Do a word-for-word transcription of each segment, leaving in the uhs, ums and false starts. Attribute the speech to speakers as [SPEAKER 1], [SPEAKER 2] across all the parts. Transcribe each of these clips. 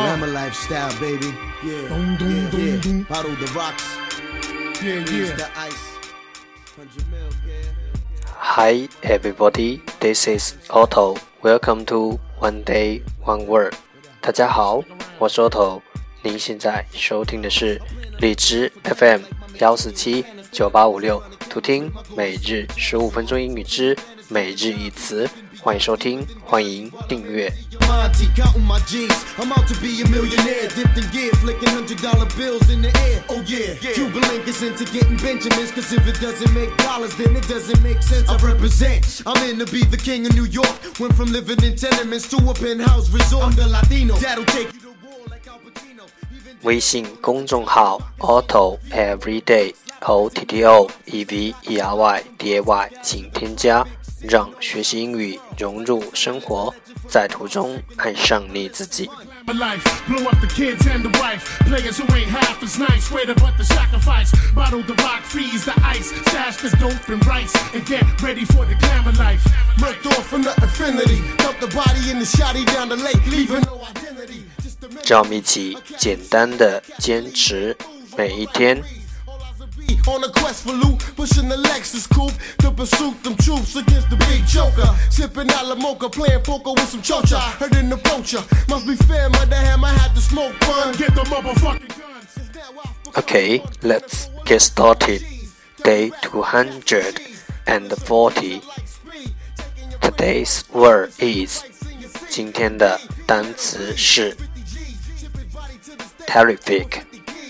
[SPEAKER 1] Glamour lifestyle, baby. Yeah, boom, boom, yeah, boom, yeah. Boom. Bottle the rocks. Yeah, yeah. The ice. Hundred mil, yeah.
[SPEAKER 2] Hi everybody, this is Otto. Welcome to One Day One Word. 大家好，我是 Otto。您现在收听的是荔枝 F M 一四七九八五六，图听每日十五分钟英语之每日一词。欢迎收听，欢迎订阅。微信公众号 Otto Everyday O T T O E V E R Y D A Y 请添加，让学习英语融入生活，在途中爱上你自己。让我们一起简单的坚持每一天。
[SPEAKER 1] On a quest for loot, pushing the Lexus coupe to pursue them troops against the big joker. Sipping out la mocha, playing poker with some chocha. Heard in the poacher, must be fair, mother ham, I had to smoke fun. Get the motherfucking guns.
[SPEAKER 2] Okay, let's get started. Day two hundred forty. Today's word is 今天的单词是 terrific,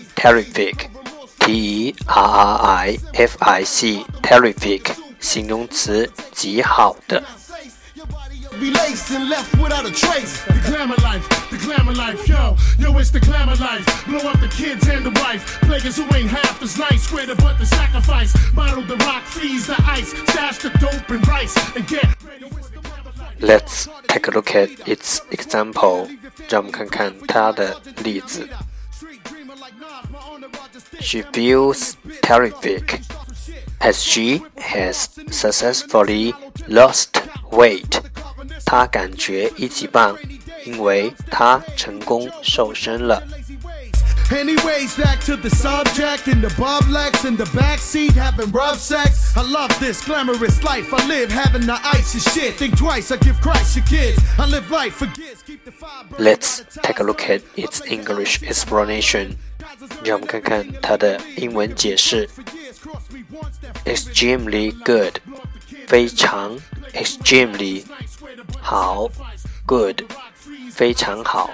[SPEAKER 2] terrific.T E R R I F I C terrific 形容词极好的。Let's take a look at its example. 让我们看看它的例子。She feels terrific as she has successfully lost weight. 她感觉一级棒，因为她成功瘦身了。
[SPEAKER 1] Anyways, back to the subject in the Bob Lex in the backseat having rough sex. I love this glamorous life I live, having the ice and shit. Think twice, I give Christ your kids. I live life for kids, keep the fire.
[SPEAKER 2] Let's take a look at its English explanation. 让我们看看它的英文解释。Extremely good, 非常 extremely 好 good 非常好。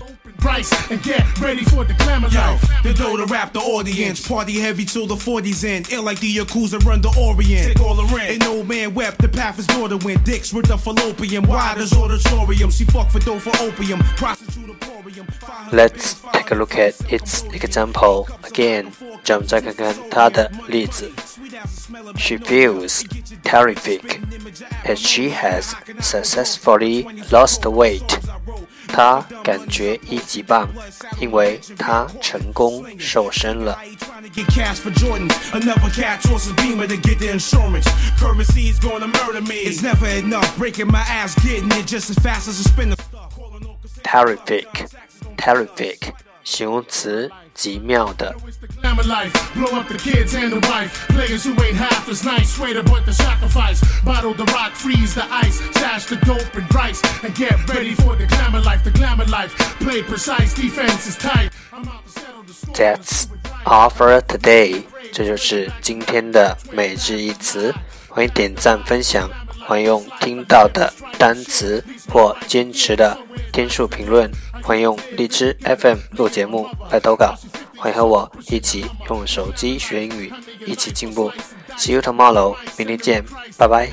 [SPEAKER 3] And get ready for the glamour life. The dough to rap the audience, party heavy till the forties end. Ill like the Yakuza run the Orient. Take all the rent. An old man wept, the path is door to win. Dicks with the fallopian, wide as auditorium. She fuck for dough for opium, prostitute emporium.
[SPEAKER 2] Let's take a look at its example again. 让我们再看看它的例子。She feels terrific as she has successfully lost weight. 她感觉一级棒，因为她成功瘦身了。Terrific, terrific 形容词极妙的。
[SPEAKER 3] Blow up the kids and the wife. Players who ain't half as nice. Swear to put the sacrifice. Bottle the rock, freeze the ice. Stash the dope and rice. And get ready for the glamour life. The glamour life. Play precise, defense is tight. I'm out to settle the score.
[SPEAKER 2] That's all for today. 这就是今天的每日一词。欢迎点赞分享，欢迎用听到的单词或坚持的天数评论，欢迎用荔枝 F M 录节目来投稿。欢迎和我一起用手机学英语，一起进步。See you tomorrow， 明天见，拜拜。